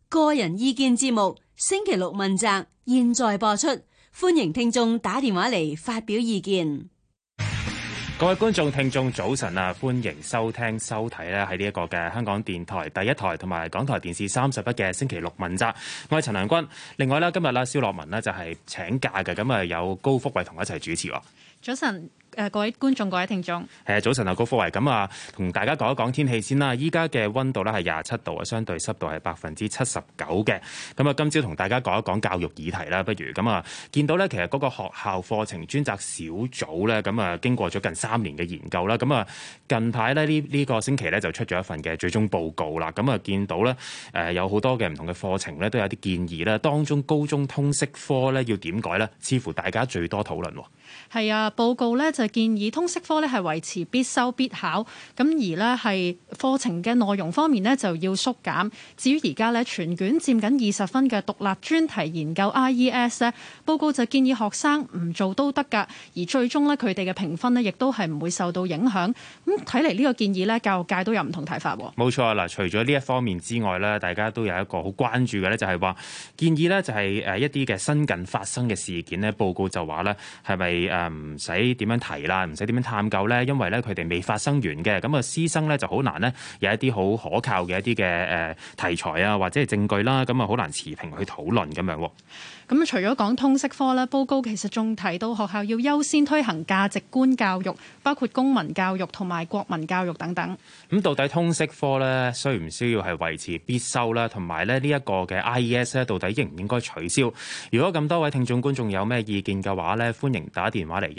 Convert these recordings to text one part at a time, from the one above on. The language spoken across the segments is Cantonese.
個人意見節目星期六問責，現在播出，歡迎聽眾打電話嚟發表意見。 各位觀眾聽眾早晨啊，歡迎收聽收睇咧喺呢一個嘅香港電台第一台同埋港台電視31嘅星期六問責。我係陳良君。另外咧今日啦蕭樂文呢就係請假嘅，咁啊有高福慧同我一齊主持。 早晨。各位觀眾、各位聽眾， 早晨啊，高福慧，咁啊，同大家講一講天氣先啦。依家嘅溫度咧係27度啊，相對濕度係79%嘅。咁啊，今朝同大家講一講教育議題啦，不如咁啊，見到咧其實嗰個學校課程專責小組咧，咁啊經過咗近3年嘅研究啦，咁啊近排咧呢個星期咧就出咗一份嘅最終報告啦。咁啊見到咧有好多嘅唔同嘅課程咧都有啲建議啦，當中高中通識科咧要點改咧，似乎大家最多討論。 係啊，報告咧就建議通識科咧係維持必修必考，咁而咧係課程嘅內容方面咧就要縮減。至於而家咧全卷佔緊20分嘅獨立專題研究 IES 咧，報告就建議學生唔做都得㗎，而最終咧佢哋嘅評分咧亦都係唔會受到影響。咁睇嚟呢個建議咧，教育界都有唔同睇法。 冇錯啦，除咗呢一方面之外咧，大家都有一個好關注嘅咧，就係話建議咧就係一啲嘅新近發生嘅事件咧，報告就話咧係咪唔使點樣提啦，唔使點樣探究咧，因為咧佢哋未發生完嘅，咁啊師生咧就好難咧有一啲好可靠嘅一啲嘅題材啊，或者係證據啦，咁啊好難持平去討論咁樣。 咁除咗講通識科咧，報告其實仲提到學校要優先推行價值觀教育，包括公民教育同埋國民教育等等。咁到底通識科咧需唔需要係維持必修啦？同埋咧呢一個嘅 IES 咧，到底應唔應該取消？如果咁多位聽眾觀眾有咩意見嘅話咧，歡迎打電話嚟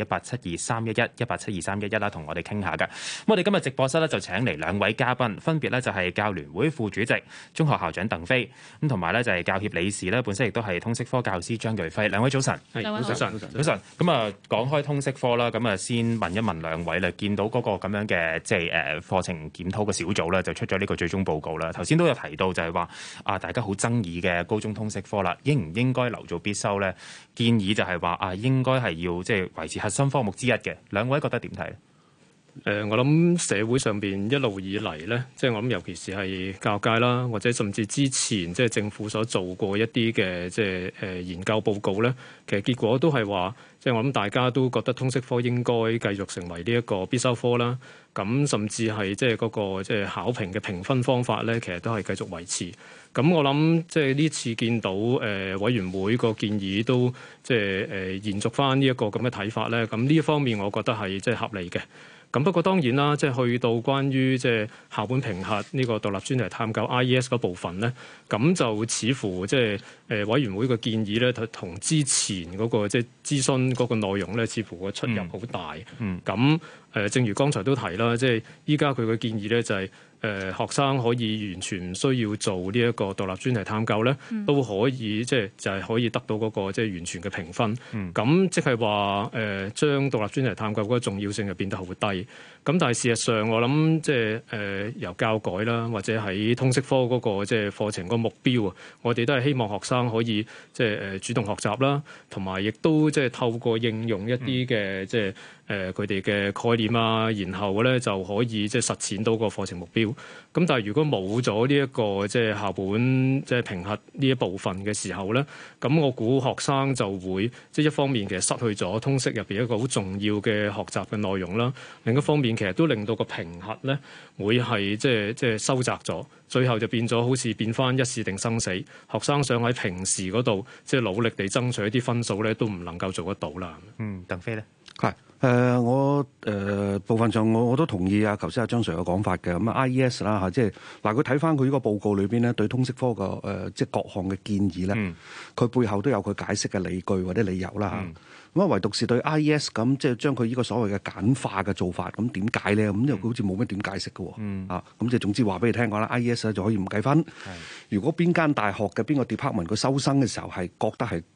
1872311啦，同我哋傾下㗎。咁我哋今日直播室咧就請嚟2位嘉賓，分別咧就係教聯會副主席、中學校長鄧飛，咁同埋咧就係教協理事咧，本身亦都係通識科教師張瑞輝。2位早晨。 早晨。 咁啊講開通識科啦，咁啊先問一問2位啦，見到嗰個咁樣嘅即係課程檢討嘅小組咧，就出咗呢個最終報告啦。頭先都有提到就係話大家好爭議嘅高中通識科啦，應唔應該留做必修咧？建議就係話應該係要即係維持核心科目之一嘅。2位覺得點睇？ 我諗社會上邊一路以嚟咧，即係我諗尤其是係教育界啦，或者甚至之前即係政府所做過一啲嘅即係研究報告咧，其實結果都係話，即係我諗大家都覺得通識科應該繼續成為呢一個必修科啦。咁甚至係即係嗰個即係考評嘅評分方法咧，其實都係繼續維持。咁我諗即係呢次見到委員會個建議都即係延續翻呢一個咁嘅睇法咧。咁呢一方面，我覺得係即係合理嘅。咁不過當然啦，即係去到關於即係校本評核呢個獨立專題探究 IES 嗰部分咧，咁就似乎即係委員會嘅建議咧，同之前嗰個即係諮詢嗰個內容咧，似乎個出入好大。咁正如剛才都提啦，即係依家佢嘅建議咧就係學生可以完全唔需要做呢一個獨立專題探究咧，都可以即係就係可以得到嗰個即係完全嘅評分。咁即係話將獨立專題探究嗰個重要性就變得好低。咁但係事實上，我諗即係由教改啦，或者喺通識科嗰個即係課程個目標啊，我哋都係希望學生可以即係主動學習啦，同埋亦都即係透過應用一啲嘅即係佢哋嘅概念啊，然後咧就可以即係實踐到個課程目標。咁但係如果冇咗呢一個即係校本即係評核呢一部分嘅時候咧，咁我估學生就會即係一方面其實失去咗通識入邊一個好重要嘅學習嘅內容啦，另一方面其實都令到個評核咧會係即係收窄咗，最後就變咗好似變翻一試定生死，學生想喺平時嗰度即係努力地爭取一啲分數咧，都唔能夠做得到啦。 鄧飛咧？ 係我部分上我都同意頭先張 Sir 嘅講法嘅。咁IES 啦嚇，即係嗱佢睇翻佢呢個報告裏邊咧，對通識科嘅即係各項嘅建議咧，佢背後都有佢解釋嘅理據或者理由啦嚇。咁唯獨是對 IES 咁，即係將佢呢個所謂嘅簡化嘅做法，咁點解咧？咁又好似冇乜點解釋嘅喎。咁即係總之話俾你聽講啦，IES 就可以唔計分。如果邊間大學嘅邊個 department 佢收生嘅時候係覺得係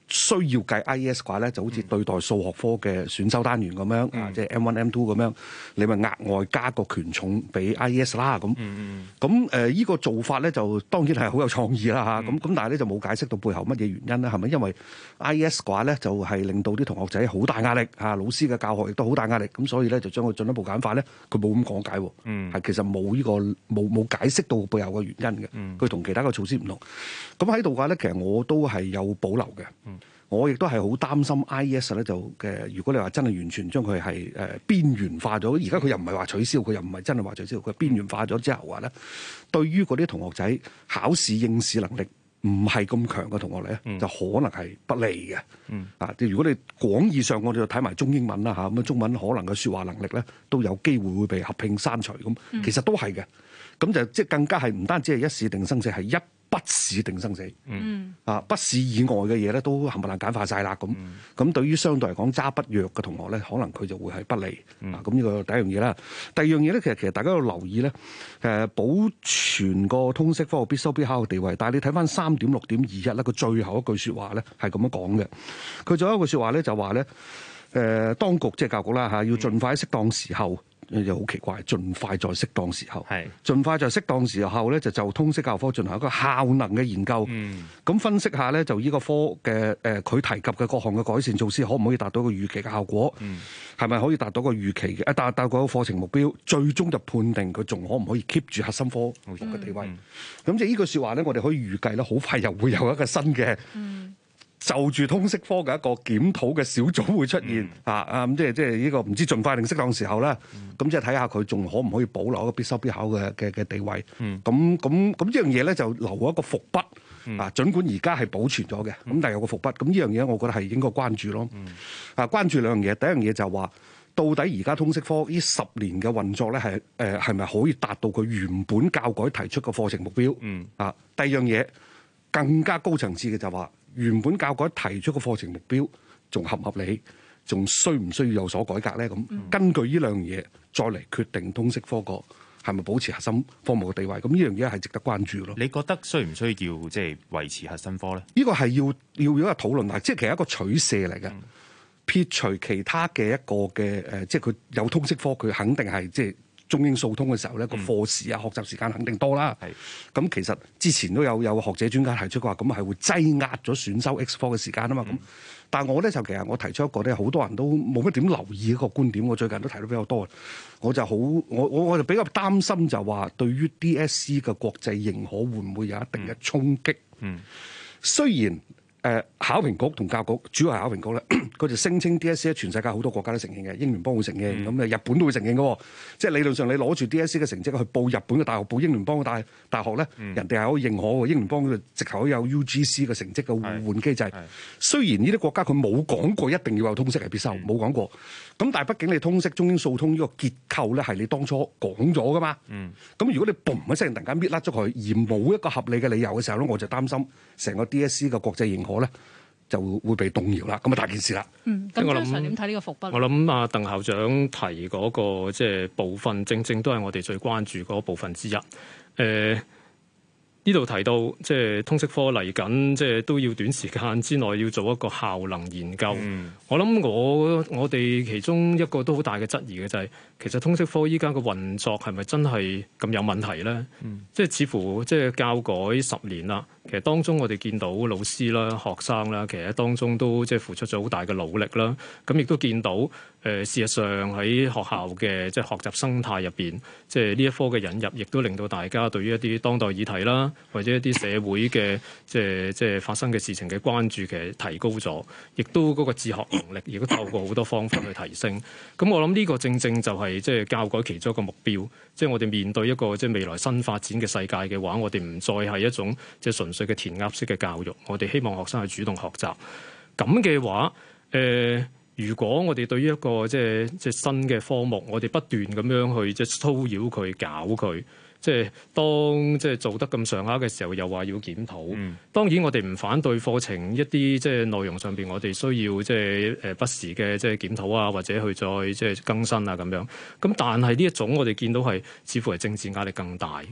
需要計 IES 嘅話咧，就好似對待數學科嘅選修單元咁樣啊，即係 M1、M2 咁樣，你咪額外加個權重俾 IES 啦咁。咁依個做法咧就當然係好有創意啦嚇。咁但係咧就冇解釋到背後乜嘢原因咧？係咪因為 IES 嘅話咧就係令到啲同學仔好大壓力嚇，老師嘅教學亦都好大壓力，咁所以咧就將佢進一步簡化咧，佢冇咁講解喎。係其實冇呢個冇解釋到背後嘅原因嘅。佢同其他嘅措施唔同。咁喺度嘅話咧，其實我都係有保留嘅。我亦都係好擔心 IES 咧如果你話真係完全將佢係邊緣化咗，而家佢又唔係話取消，佢又唔係真係話取消，佢邊緣化咗之後話咧，對於嗰啲同學仔考試應試能力唔係咁強嘅同學咧，就可能係不利嘅。如果你廣義上我哋就睇埋中英文啦嚇，咁中文可能嘅説話能力咧都有機會會被合併刪除咁，其實都係嘅。咁就即係更加係唔單止係一試定生死，係一筆試定生死。筆試以外嘅嘢咧都冚唪唥簡化晒啦。咁對於相對嚟講揸筆弱嘅同學咧，可能佢就會係不利。咁呢個第一樣嘢啦。第二樣嘢咧，其實大家要留意咧，保存個通識科必修必考嘅地位。但係你睇翻3.6.21咧，佢最後一句説話咧係咁樣講嘅。佢最後一句説話咧就話咧，當局即係教育局啦嚇，要盡快喺適當時候。又好奇怪，盡快在適當時候，盡快在適當時候咧，就通識教科進行一個效能嘅研究，咁分析下咧，就呢個科嘅佢提及嘅各項嘅改善措施，可唔可以達到個預期嘅效果？係咪可以達到個預期嘅達到個課程目標？最終就判定佢仲可唔可以 keep 住核心科嘅地位？咁即係呢句説話咧，我哋可以預計咧，好快又會有一個新嘅。就住通識科嘅一個檢討嘅小組會出現咁即係呢個唔知盡快定適當時候啦。咁即係睇下佢仲可唔可以保留一個必修必考嘅地位。咁呢樣嘢咧就留一個伏筆。儘管而家係保存咗嘅，咁但係有個伏筆。咁呢樣嘢我覺得係應該關注咯。關注兩樣嘢，第一樣嘢就係話到底而家通識科呢10年嘅運作咧係咪可以達到佢原本教改提出嘅課程目標？第二樣嘢更加高層次嘅就係話。原本教改提出個課程目標仲合唔合理，仲需唔需要有所改革咧？咁根據呢兩樣嘢再嚟決定通識科個係咪保持核心科目嘅地位。咁呢樣嘢係值得關注咯。 你覺得需唔需要即係維持核心科咧？ 呢個係要有一個討論，即係其實一個取捨嚟嘅。撇除其他嘅一個嘅即係佢有通識科，佢肯定係即係。中英數通嘅時候咧，個課時啊、學習時間肯定多啦。咁其實之前都有學者專家提出過話，咁係會擠壓咗選修 X 科嘅時間啊嘛。咁但係我咧就其實我提出一個咧，好多人都冇乜點留意一個觀點。我最近都提到比較多，我就比較擔心就話對於 DSE 嘅國際認可會唔會有一定嘅衝擊？雖然。考評局同教育局主要係考評局咧，佢就聲稱 DSE 全世界好多國家都承認嘅，英聯邦會承認，咁日本都會承認嘅。即係理論上你攞住 DSE 嘅成績去報日本嘅大學，報英聯邦嘅大學咧，人哋係可以認可嘅。英聯邦嘅直頭有 UGC 嘅成績嘅互換機制。雖然呢啲國家佢冇講過一定要有通識係必修，冇講過。咁但係畢竟你通識中英數通呢個結構咧係你當初講咗噶嘛。咁如果你嘣一聲突然間搣甩咗佢，而冇一個合理嘅理由嘅時候咧，我就擔心成個 DSE 嘅國際認可咧就會被動搖啦。咁啊大件事啦。 咁張 Sir 點睇呢個伏筆？ 我諗啊，鄧校長提嗰個即係部分，正正都係我哋最關注嗰部分之一。呢度提到即係通識科嚟緊，即係都要短時間之內要做一個效能研究。我諗我哋其中一個都好大嘅質疑嘅就係，其實通識科依家嘅運作係咪真係咁有問題咧？即係似乎即係教改10年啦，其實當中我哋見到老師啦、學生啦，其實當中都即係付出咗好大嘅努力啦。咁亦都見到事實上喺學校嘅即係學習生態入邊，即係呢一科嘅引入，亦都令到大家對於一啲當代議題啦，或者一啲社會嘅即係發生嘅事情嘅關注，其實提高咗，亦都嗰個自學能力，亦都透過好多方法去提升。咁我諗呢個正正就係即係教改其中一個目標，即係我哋面對一個即係未來新發展嘅世界嘅話，我哋唔再係一種即係純粹嘅填鴨式嘅教育，我哋希望學生去主動學習。咁嘅話，如果我哋對於一個即係新嘅科目，我哋不斷咁樣去即係騷擾佢、搞佢，即係當即係做得咁上下嘅時候，又話要檢討。當然我哋唔反對課程一啲即係內容上邊，我哋需要即係不時嘅即係檢討啊，或者去再即係更新啊咁樣。咁但係呢一種我哋見到係似乎係政治壓力更大。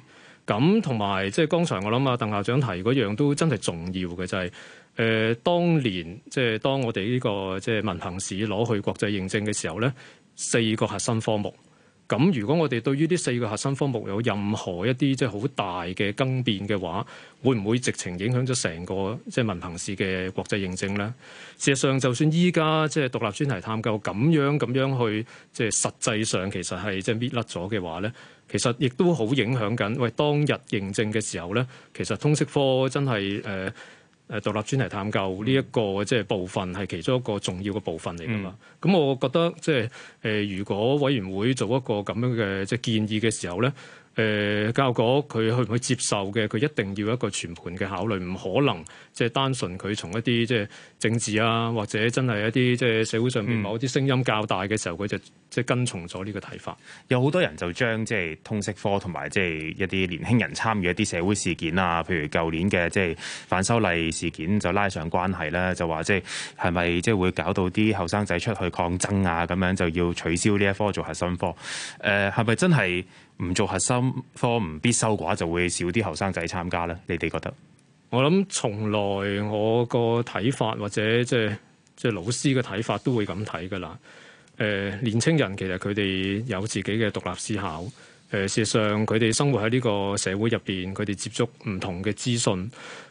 咁同埋即係剛才我諗啊，鄧校長提嗰樣都真係重要嘅，就係當年即係當我哋呢個即係文憑試攞去國際認證嘅時候咧，4個核心科目。咁如果我哋對於呢4個核心科目有任何一啲即係好大嘅更變嘅話，會唔會直情影響咗成個即係文憑試嘅國際認證咧？事實上，就算依家即係獨立專題探究咁樣去即係實際上其實係即係搣甩咗嘅話咧，其實亦都好影響緊。喂，當日認證嘅時候咧，其實通識科真係獨立專題探究呢一個即係部分係其中一個重要嘅部分嚟㗎嘛。咁我覺得即係如果委員會做一個咁樣嘅即係建議嘅時候咧，教育局佢去唔去接受嘅，佢一定要一個全盤嘅考慮，唔可能即係單純佢從一啲即係政治啊，或者真係一啲即係社會上面某啲聲音較大嘅時候，佢就即係跟從咗呢個睇法。 有好多人就將即係通識科同埋即係一啲年輕人參與一啲社會事件啊，譬如舊年嘅即係反修例事件就拉上關係啦，就話即係咪即係會搞到啲後生仔出去抗爭啊，咁樣就要取消呢一科做核心科。係咪真係唔做核心科唔必修嘅話，就會少啲後生仔參加咧？你哋覺得？ 我諗從來我個睇法或者即係老師嘅睇法都會咁睇㗎啦。年青人其實佢哋有自己嘅獨立思考。事實上佢哋生活喺呢個社會入邊，佢哋接觸唔同嘅資訊。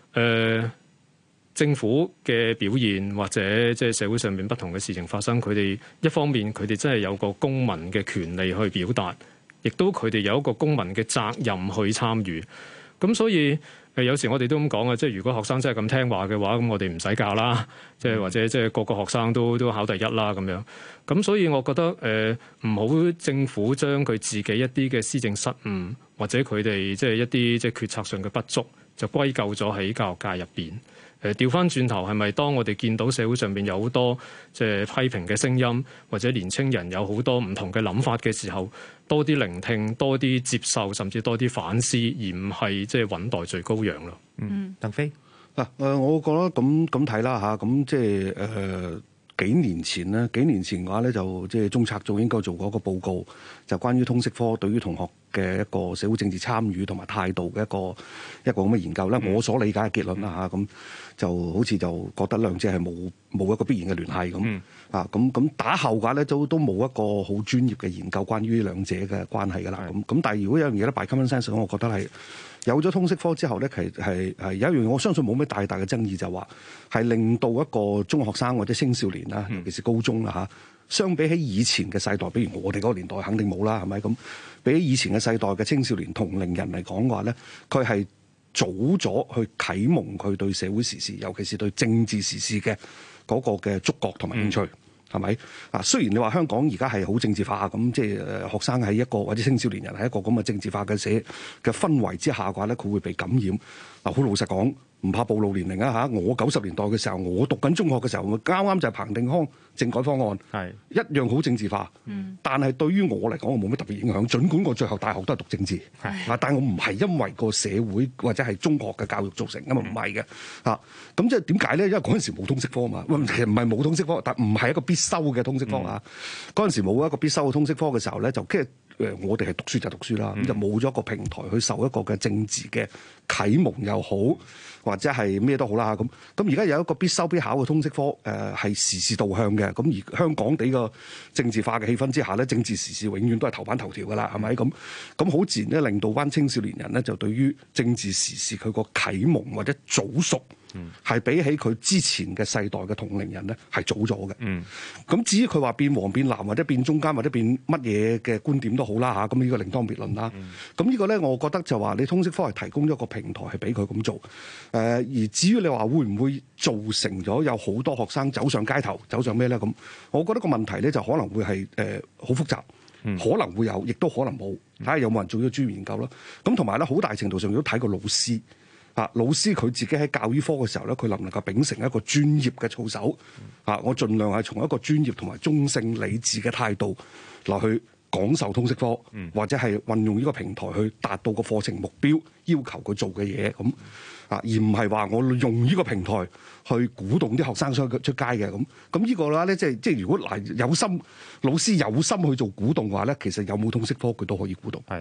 政府嘅表現或者即係社會上面不同嘅事情發生，佢哋一方面佢哋真係有個公民嘅權利去表達，亦都佢哋有一個公民嘅責任去參與。咁所以有時我哋都咁講啊，即係如果學生真係咁聽話嘅話，咁我哋唔使教啦，即係或者即係個個學生都考第一啦咁樣。咁所以我覺得唔好政府將佢自己一啲嘅施政失誤或者佢哋即係一啲即係決策上嘅不足，就歸咎咗喺教育界入邊。調翻轉頭係咪當我哋見到社會上邊有好多即係批評嘅聲音，或者年青人有好多唔同嘅諗法嘅時候，多啲聆聽，多啲接受，甚至多啲反思，而唔係即係穩待罪羔羊咯。 鄧飛嗱，我覺得咁睇啦嚇，咁即係幾年前嘅話咧，就即係中策組應該做過一個報告，就關於通識科對於同學嘅一個社會政治參與同埋態度嘅一個咁嘅研究咧。我所理解嘅結論啦嚇，咁就好似就覺得兩者係冇一個必然嘅聯繫咁啊。咁打後嘅話咧，都冇一個好專業嘅研究關於兩者嘅關係㗎啦。咁但係如果有樣嘢咧，by common sense，我覺得係有咗通識科之後咧，係有一樣我相信冇咩大嘅爭議，就話係令到一個中學生或者青少年啦，尤其是高中啦嚇，相比起以前嘅世代，比如我哋嗰個年代肯定冇啦，係咪咁？比起以前嘅世代嘅青少年同齡人嚟講嘅話咧，佢係早咗去啟蒙佢對社會時事，尤其是對政治時事嘅嗰個嘅觸覺同埋興趣。係咪啊？雖然你話香港而家係好政治化咁，即係學生喺一個或者青少年人喺一個咁嘅政治化嘅嘅氛圍之下嘅話咧，佢會被感染。嗱，好老實講，唔怕暴露年齡啊嚇！我90年代嘅時候，我讀緊中學嘅時候，啱啱就係彭定康政改方案，係一樣好政治化。但係對於我嚟講，我冇乜特別影響。儘管我最後大學都係讀政治，但我唔係因為個社會或者係中學嘅教育造成，咁啊唔係嘅嚇。咁即係點解咧？因為嗰陣時冇通識科嘛，其實唔係冇通識科，但唔係一個必修嘅通識科啊。嗰陣時冇一個必修嘅通識科嘅時候咧，就即係我哋係讀書就讀書啦，咁就冇咗一個平台去受一個嘅政治嘅啟蒙又好，或者係咩都好啦。咁而家有一個必修必考嘅通識科，係時事導向嘅。咁而香港地個政治化嘅氣氛之下咧，政治時事永遠都係頭版頭條㗎啦，係咪咁好自然咧，令到班青少年人咧就對於政治時事佢個啟蒙或者早熟。係比起佢之前嘅世代嘅同齡人咧，係早咗嘅。咁至於佢話變黃變藍或者變中間或者變乜嘢嘅觀點都好啦嚇，咁呢個另當別論啦。咁呢個咧，我覺得就話你通識科係提供咗一個平台係俾佢咁做。而至於你話會唔會造成咗有好多學生走上街頭，走上咩咧？咁我覺得個問題咧就可能會係好複雜，可能會有，亦都可能冇。睇下有冇人做咗專業研究咯。咁同埋咧，好大程度上都睇個老師。老師佢自己喺教育科嘅時候咧，佢能唔能夠秉承一個專業嘅操守？我盡量係從一個專業同埋中性理智嘅態度落去講授通識科，或者係運用呢個平台去達到個課程目標，要求佢做嘅嘢咁而唔係話我用呢個平台去鼓動啲學生出街嘅咁呢個啦咧，即係如果有心老師有心去做鼓動嘅話咧，其實有冇通識科佢都可以鼓動。係。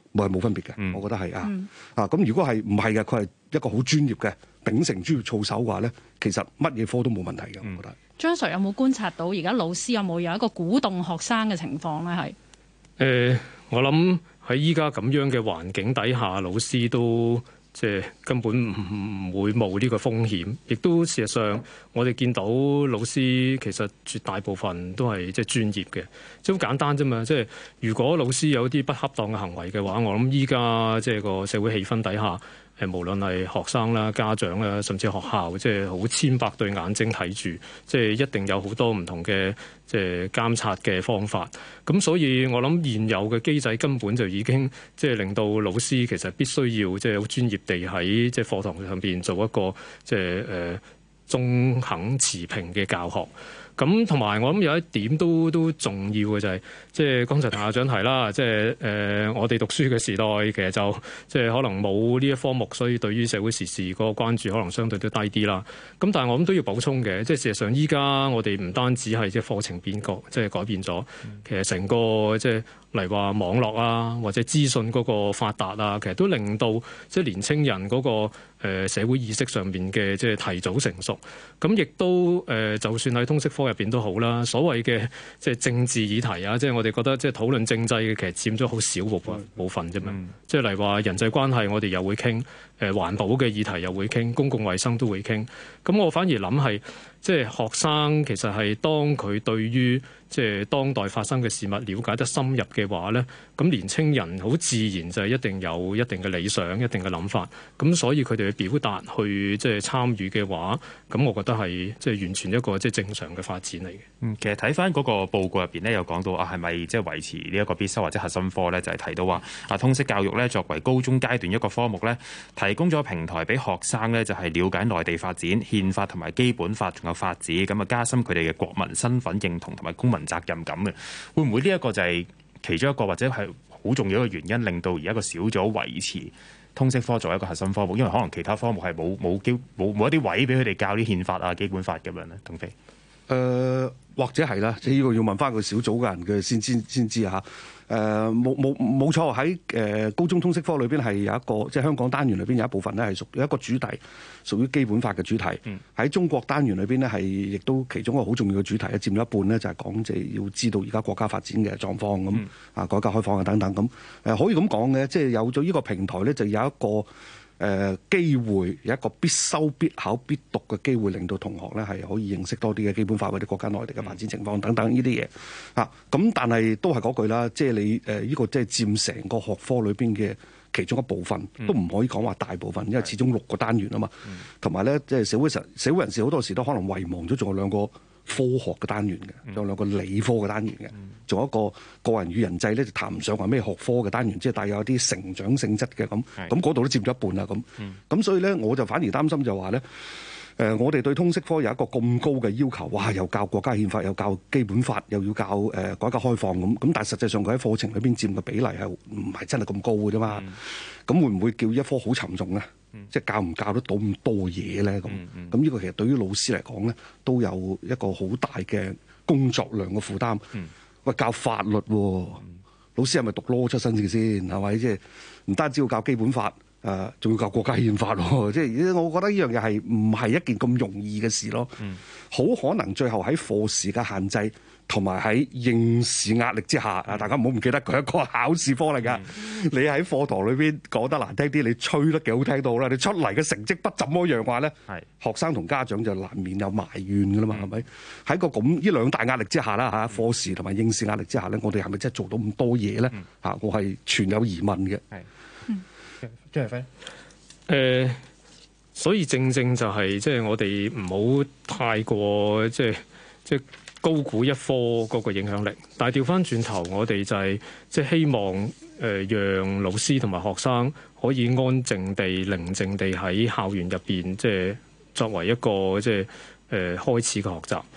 冇分別嘅。我覺得係咁如果係唔係嘅，佢係一個好專業嘅秉承專業操守嘅話咧，其實乜嘢科都冇問題嘅。我覺得張 Sir 有冇觀察到而家老師有冇一個鼓動學生嘅情況咧？係我諗喺依家咁樣嘅環境底下，老師都即係根本唔會冒呢個風險，亦都事實上我哋見到老師其實絕大部分都係即係專業嘅，即係好簡單啫嘛。即係如果老師有啲不恰當嘅行為嘅話，我諗依家即係個社會氣氛底下，無論係學生啦、家長啦，甚至學校，即係好千百對眼睛睇住，即係一定有好多唔同嘅即係監察嘅方法。咁所以我諗現有嘅機制根本就已經即係令到老師其實必須要即係好專業地喺即係課堂上邊做一個即係中肯持平嘅教學。咁同埋我諗有一點都重要嘅就係，即係剛才譚校長提啦，即係我哋讀書嘅時代其實就即係可能冇呢一科目，所以對於社會時事嗰個關注可能相對都低啲啦。咁但係我諗都要補充嘅，即係事實上依家我哋唔單止係即係課程變革，即係改變咗，其實成個即係例如話網絡啊，或者資訊嗰個發達啊，其實都令到即係年青人嗰個社會意識上面嘅即係提早成熟。咁亦都就算喺通識科入邊都好啦，所謂嘅即係政治議題啊，即係我哋覺得即係討論政制嘅，其實佔咗好少部分啫嘛。即係例如話人際關係，我哋又會傾，環保嘅議題又會傾，公共衛生都會傾。咁我反而諗係，即係學生其實係當佢對於即係當代發生嘅事物了解得深入嘅話咧，咁年青人好自然就係一定有一定嘅理想、一定嘅諗法。咁所以佢哋去表達、去即係參與嘅話，咁我覺得係即係完全一個即係正常嘅發展嚟嘅。 其實睇翻嗰個報告入邊咧，有講到係咪即係維持呢一個必修或者核心科咧，就係提到話通識教育咧作為高中階段一個科目咧，提供咗平台俾學生咧就係了解內地發展、憲法同埋基本法仲有法治，咁加深佢哋嘅國民身份認同同埋公民責任感嘅。會唔會呢一個就係其中一個或者係好重要嘅原因，令到而家個小組維持通識科作為一個核心科目？因為可能其他科目係冇一啲位俾佢哋教啲憲法啊、基本法咁樣咧。鄧飛， 或者係啦，即係呢個要問翻個小組嘅人嘅先知嚇。冇錯，喺高中通識科裏邊係有一個，即係香港單元裏邊有一部分咧係有一個主題屬於基本法嘅主題。喺中國單元裏邊咧係亦都其中一個好重要嘅主題咧，佔咗一半咧，就係講即係要知道而家國家發展嘅狀況咁改革開放啊等等咁。可以咁講嘅，即係有咗呢個平台咧，就有一個機會，有一個必修必考必讀嘅機會，令到同學咧係可以認識多啲嘅基本法或者國家內地嘅發展情況等等呢啲嘢嚇。咁但係都係嗰句啦，即係你呢個即係佔成個學科裏邊嘅其中一部分，都唔可以講話大部分，因為始終6個單元啊嘛。同埋咧，即係社會人士好多時都可能遺忘咗，仲有2個科學嘅單元嘅，仲有2個理科嘅單元嘅，仲有一個個人與人際咧，就談唔上話咩學科嘅單元，即係帶有一啲成長性質嘅咁。咁嗰度都佔咗一半啦咁。咁所以咧，我就反而擔心就話咧，我哋對通識科有一個咁高嘅要求，哇！又教國家憲法，又教基本法，又要教改革開放咁。咁但係實際上佢喺課程裏邊佔嘅比例係唔係真係咁高嘅啫嘛？咁會唔會叫一科好沉重咧？即係教唔教得到咁多嘢咧？咁呢個其實對於老師嚟講咧，都有一個好大嘅工作量嘅負擔。喂，教法律喎，老師係咪讀 law 出身嘅先？係咪？即係唔單止要教基本法，仲要教國家憲法喎。即係我覺得呢樣嘢係唔係一件咁容易嘅事咯？好可能最後喺課時嘅限制，同埋喺應試壓力之下，大家唔好唔記得佢係一個考試科嚟㗎。你喺課堂裏邊講得難聽啲，你吹得幾好聽到啦，你出嚟嘅成績不怎麼樣話咧，學生同家長就難免有埋怨㗎啦嘛，係咪？喺個咁呢2大壓力之下啦嚇，課時同埋應試壓力之下咧，我哋係咪真係做到咁多嘢咧？我係存有疑問嘅。 張偉輝， 所以正就係即係我哋唔好太過即係高估一科嗰個影響力，但係調翻轉頭，我哋就係即係希望讓老師同埋學生可以安靜地、寧靜地喺校園入邊，即係作為一個即係開始嘅學習。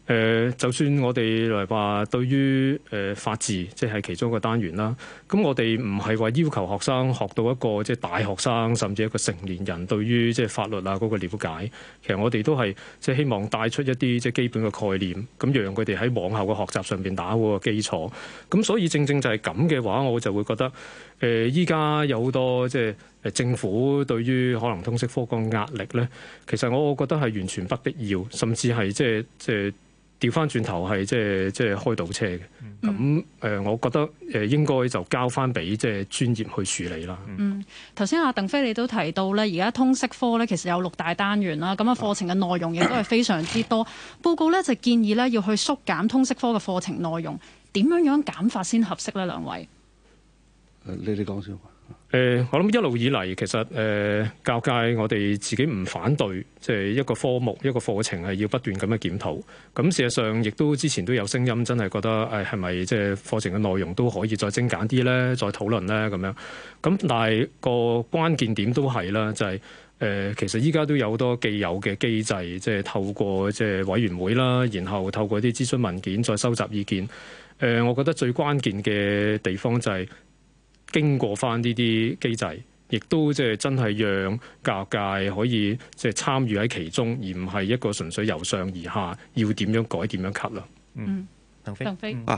就算我哋嚟話對於法治，即係其中一個單元啦，咁我哋唔係話要求學生學到一個即係大學生甚至一個成年人對於即係法律啊嗰個了解，其實我哋都係即係希望帶出一啲即係基本嘅概念，咁讓佢哋喺往後嘅學習上邊打好個基礎。咁所以正正就係咁嘅話，我就會覺得依家有好多即係政府對於可能通識科個壓力咧，其實我覺得係完全不必要，甚至係即係調翻轉頭係即係開倒車嘅。咁我覺得應該就交翻俾即係專業去處理啦。 頭先阿鄧飛你都提到咧，而家通識科咧其實有6大單元啦，咁啊課程嘅內容亦都係非常之多。報告咧就建議咧要去縮減通識科嘅課程內容，點樣減法先合適咧？兩位， 你哋講先。 我諗一路以嚟，其實教界我哋自己唔反對，即係一個科目一個課程係要不斷咁樣檢討。咁事實上，亦都之前都有聲音，真係覺得係咪即係課程嘅內容都可以再精簡啲咧，再討論咧咁樣。咁但係個關鍵點都係啦，就係其實依家都有好多既有嘅機制，即係透過即係委員會啦，然後透過啲諮詢文件再收集意見。我覺得最關鍵嘅地方就係經過翻呢啲機制，亦都即係真係讓教育界可以即係參與喺其中，而唔係一個純粹由上而下要點樣改點樣 cut 啦。 鄧飛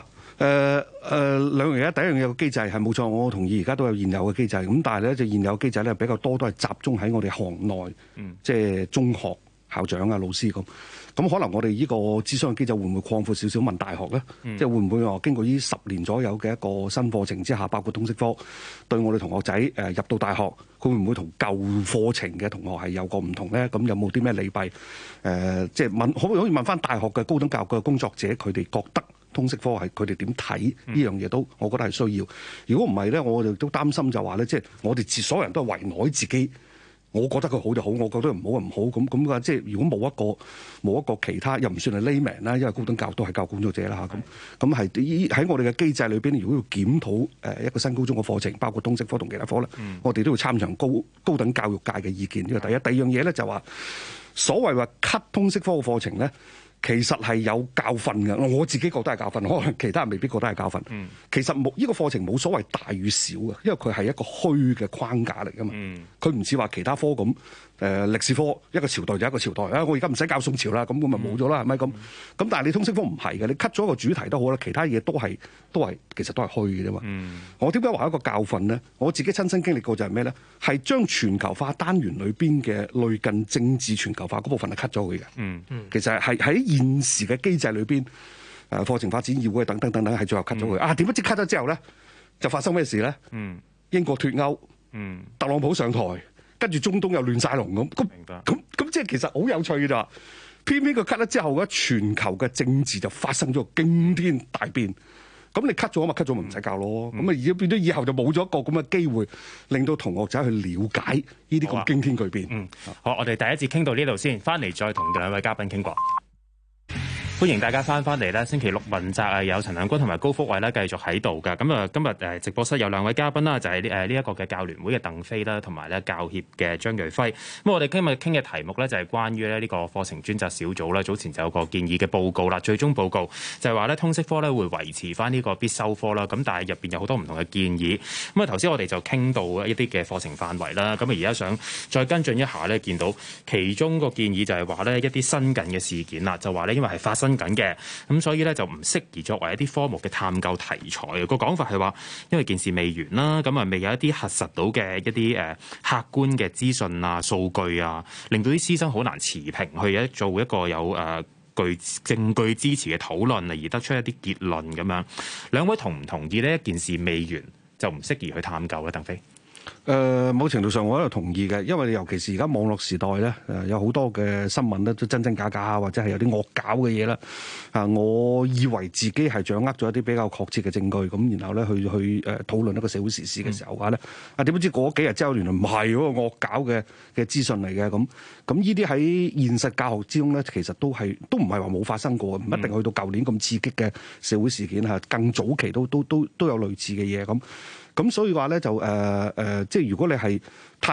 兩樣嘢，第一樣嘢個機制係冇錯，我同意而家都有現有嘅機制，咁但係咧就現有機制咧比較多都係集中喺我哋行內，即係中學校長啊、老師咁。咁可能我哋呢個諮詢嘅機制會唔會擴闊少少問大學咧？即係會唔會話經過呢10年左右嘅一個新課程之下，包括通識科，對我哋同學仔入到大學，佢會唔會同舊課程嘅同學係有個唔同咧？咁有冇啲咩利弊？即係問可唔可以問翻大學嘅高等教育嘅工作者，佢哋覺得通識科係佢哋點睇呢樣嘢都，我覺得係需要。如果唔係咧，我哋都擔心就話咧，即係我哋所有人都係圍內自己。我覺得佢好就好，我覺得唔好就唔好，咁嘅即係如果冇一個其他，又唔算係 layman 啦，因為高等教育都係教育工作者啦嚇，咁係喺我哋嘅機制裏邊，如果要檢討一個新高中嘅課程，包括通識科同其他科咧，我哋都要參詳高等教育界嘅意見。呢個第一，第二樣嘢咧就話所謂話 cut 通識科嘅課程咧。其實係有教訓嘅，我自己覺得係教訓，可能其他人未必覺得係教訓。其實呢個課程冇所謂大與小嘅，因為佢係一個虛嘅框架嚟㗎嘛。佢唔似話其他科咁，歷史科一個朝代就一個朝代啊！我而家唔使教宋朝啦，咁咪冇咗啦，係咪咁？咁但係你通識科唔係嘅，你 cut 咗一個主題都好啦，其他嘢都係其實都係虛嘅啫嘛。我點解話一個教訓呢？我自己親身經歷過就係咩咧？係將全球化單元裏邊嘅類近政治全球化嗰部分係 cut 咗佢嘅。其實係喺現時嘅機制裏邊，課程發展議會等等等等，係最後 cut 咗佢。點不知 cut 咗之後咧，就發生咩事咧？英國脫歐，特朗普上台，跟住中東又亂晒龍咁即係其實好有趣嘅咋。偏偏佢 cut 咗之後咧，全球嘅政治就發生咗驚天大變。咁你 cut 咗咪 cut 咗咪唔使教咯。咁啊而家變咗以後就冇咗一個咁嘅機會，令到同學仔去了解呢啲咁驚天巨變。 好，我哋第一節傾到呢度先，翻嚟再同兩位嘉賓傾過。歡迎大家翻嚟啦！星期六問責啊，有陳亮均同埋高福慧咧繼續喺度㗎。咁啊，今日直播室有兩位嘉賓啦，就係呢一個嘅教聯會嘅鄧飛啦，同埋咧教協嘅張瑞輝。咁我哋今日傾嘅題目咧就係關於咧呢個課程專責小組啦，早前就有個建議嘅報告啦，最終報告就係話咧通識科咧會維持翻呢個必修科啦。咁但係入邊有好多唔同嘅建議。咁啊頭先我哋就傾到一啲嘅課程範圍啦。咁啊而家想再跟進一下咧，見到其中個建議就係話咧一啲新近嘅事件啦，就話咧因為係發生緊嘅，咁所以咧就唔適宜作為一啲科目嘅探究題材。個講法係話，因為件事未完啦，咁啊未有一啲核實到嘅一啲客觀嘅資訊啊、數據啊，令到啲師生好難持平去做一個有具證據支持嘅討論而得出一啲結論咁樣。兩位同唔同意呢？一件事未完就唔適宜去探究咧？鄧飛。 某程度上我都同意嘅，因為尤其是而家網絡時代咧，有好多嘅新聞咧都真真假假啊，或者係有啲惡搞嘅嘢啦。我以為自己係掌握咗一啲比較確切嘅證據，咁然後咧去討論一個社會時事嘅時候話咧，點不知過咗幾日之後，原來唔係嗰個惡搞嘅資訊嚟嘅。咁呢啲喺現實教學之中咧，其實都唔係話冇發生過，唔一定去到舊年咁刺激嘅社會事件嚇，更早期都有類似嘅嘢咁。咁所以話咧就即係如果你係太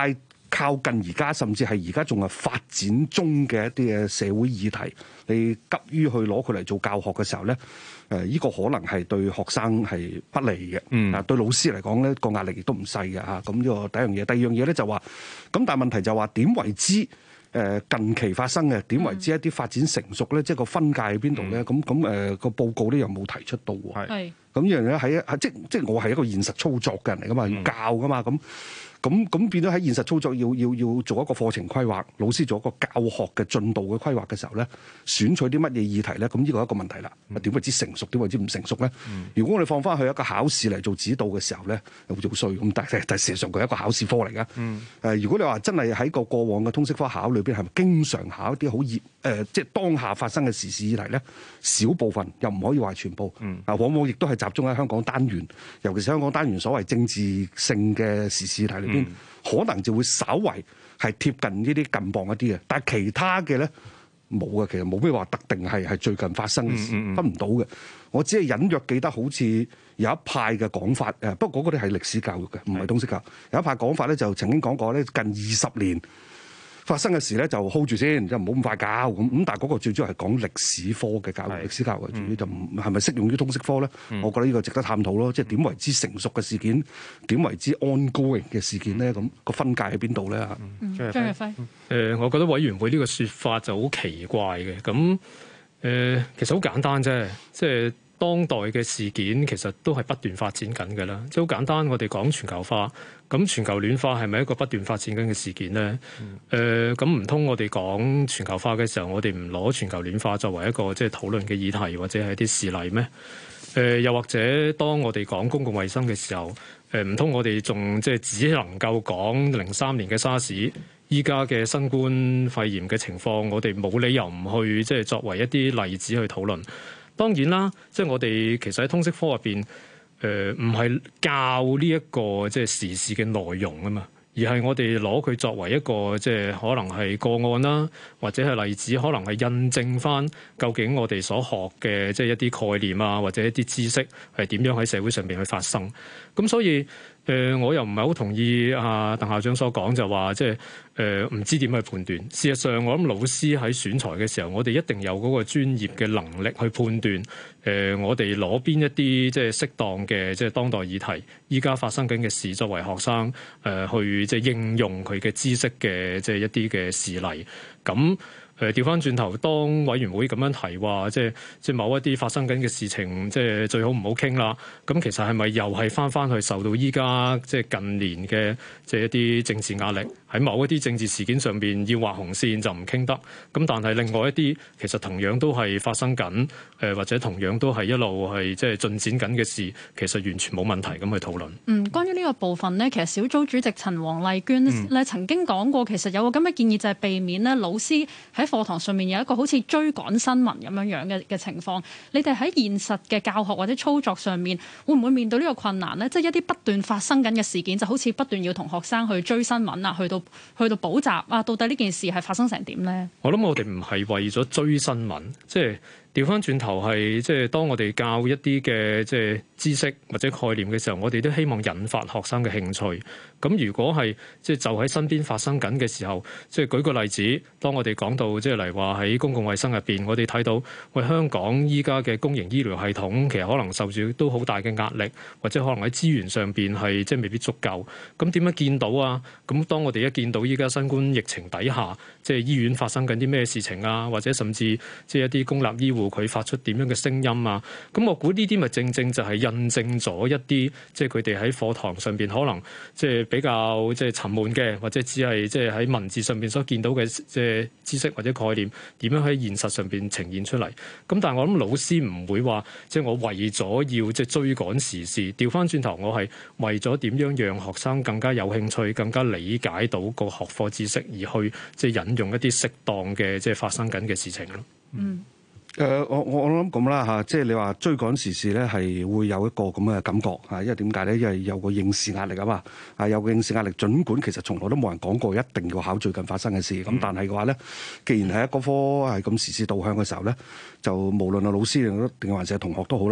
靠近而家，甚至係而家仲係發展中嘅一啲嘅社會議題，你急於去攞佢嚟做教學嘅時候咧，呢個可能係對學生係不利嘅。對老師嚟講咧，個壓力亦都唔細嘅嚇。咁呢個第一樣嘢，第二樣嘢咧就話，咁但係問題就話點為之近期發生嘅？點為之一啲發展成熟咧？即係個分界喺邊度咧？咁個報告咧又冇提出到喎。係。咁呢樣嘢喺即我係一個現實操作嘅人嚟噶嘛，要教噶嘛咁變咗喺現實操作要做一個課程規劃，老師做一個教學嘅進度嘅規劃嘅時候咧，選取啲乜嘢議題咧？咁呢個係一個問題啦。點為之成熟？點為之唔成熟咧？如果我哋放翻去一個考試嚟做指導嘅時候咧，又好似好衰咁。但係事實上佢係一個考試科嚟噶。如果你話真係喺個過往嘅通識科考裏邊，係咪經常考一啲好熱即係當下發生嘅時事議題咧？少部分又唔可以話全部。往往亦都係集中喺香港單元，尤其是香港單元所謂政治性嘅時事議題裏邊。可能就會稍為係貼近呢啲近磅一啲嘅，但係其他嘅咧冇嘅，其實冇咩話特定係最近發生嘅事，分唔到嘅。我只係隱約記得好似有一派嘅講法，不過嗰啲係歷史教育嘅，唔係通識教育。有一派講法咧，就曾經講過咧，近20年發生嘅事咧就 hold 住先，就唔好咁快教咁。但係嗰個最主要係講歷史科嘅教育，歷史教育為主，就唔係咪適用於通識科咧？我覺得呢個值得探討咯。即係點為之成熟嘅事件，點為之 ongoing 嘅事件咧？咁個分界喺邊度咧？ 張日輝， 我覺得委員會呢個説法就好奇怪嘅。咁其實好簡單啫，即係當代嘅事件其實都係不斷發展緊嘅啦。即係好簡單，我哋講全球化。咁全球暖化係咪一個不斷發展緊嘅事件咧？咁唔通我哋講全球化嘅時候，我哋唔攞全球暖化作為一個即係討論嘅議題，或者係一啲事例咩？又或者當我哋講公共衛生嘅時候，唔通我哋仲即係只能夠講03年嘅沙士，依家嘅新冠肺炎嘅情況，我哋冇理由唔去即係作為一啲例子去討論。當然啦，即係我哋其實喺通識科入邊。唔係教呢一個即係時事嘅內容啊嘛，而係我哋攞佢作為一個即係可能係個案啦，或者係例子，可能係印證翻究竟我哋所學嘅即係一啲概念啊，或者一啲知識係點樣喺社會上邊去發生。咁所以我又唔係好同意鄧校長所講，就話即係唔知點去判斷。事實上，我諗老師喺選材嘅時候，我哋一定有嗰個專業嘅能力去判斷。我哋攞邊一啲即係適當嘅即係當代議題，依家發生緊嘅事，作為學生去即係應用佢嘅知識嘅即係一啲嘅事例。咁調翻轉頭，當委員會咁樣提話，即係某一啲發生緊嘅事情，即係最好唔好傾啦。咁其實係咪又係翻去受到依家即係近年嘅即係一啲政治壓力，喺某一啲政治事件上邊要畫紅線就唔傾得。咁但係另外一啲其實同樣都係發生緊，或者同樣都係一路係即係進展緊嘅事，其實完全冇問題咁去討論。 關於呢個部分呢，其實小組主席陳黃麗娟咧曾經講過，其實有個咁嘅建議，就係避免咧老師喺課堂上面有一個好似追趕新聞咁樣嘅情況。你哋喺現實嘅教學或者操作上面，會唔會面對呢個困難呢？即係一啲不斷發生緊嘅事件，就好似不斷要同學生去追新聞啊，去到補習啊，到底呢件事係發生成點呢？ 我諗我哋唔係為咗追新聞，即係調翻轉頭係即係當我哋教一啲嘅即係知識或者概念嘅時候，我哋都希望引發學生嘅興趣。咁如果係即係就喺身邊發生緊嘅時候，即係舉個例子，當我哋講到即係嚟話喺公共衛生入邊，我哋睇到喂香港依家嘅公營醫療系統其實可能受住都好大嘅壓力，或者可能喺資源上邊係即係未必足夠。咁點樣見到啊？咁當我哋一見到依家新冠疫情底下，即係醫院發生緊啲咩事情啊，或者甚至即係一啲公立醫護佢發出點樣嘅聲音啊，咁我估呢啲咪正正就係印證咗一啲即係佢哋喺課堂上邊可能即係比較即係沉悶嘅，或者只係即係喺文字上邊所見到嘅即係知識或者概念，點樣喺現實上邊呈現出嚟。咁但係我諗老師唔會話即係我為咗要即係追趕時事，調翻轉頭我係為咗點樣讓學生更加有興趣、更加理解到個學科知識，而去即係引用一啲適當嘅即係發生緊嘅事情咯。 我諗咁啦嚇，即係你話追趕時事咧，係會有一個咁嘅感覺嚇，因為點解咧？因為有個應試壓力啊嘛，有個應試壓力。儘管其實從來都冇人講過一定要考最近發生嘅事，咁但係嘅話咧，既然係一個科係咁時事導向嘅時候咧，就無論係老師定還是係同學都好啦，都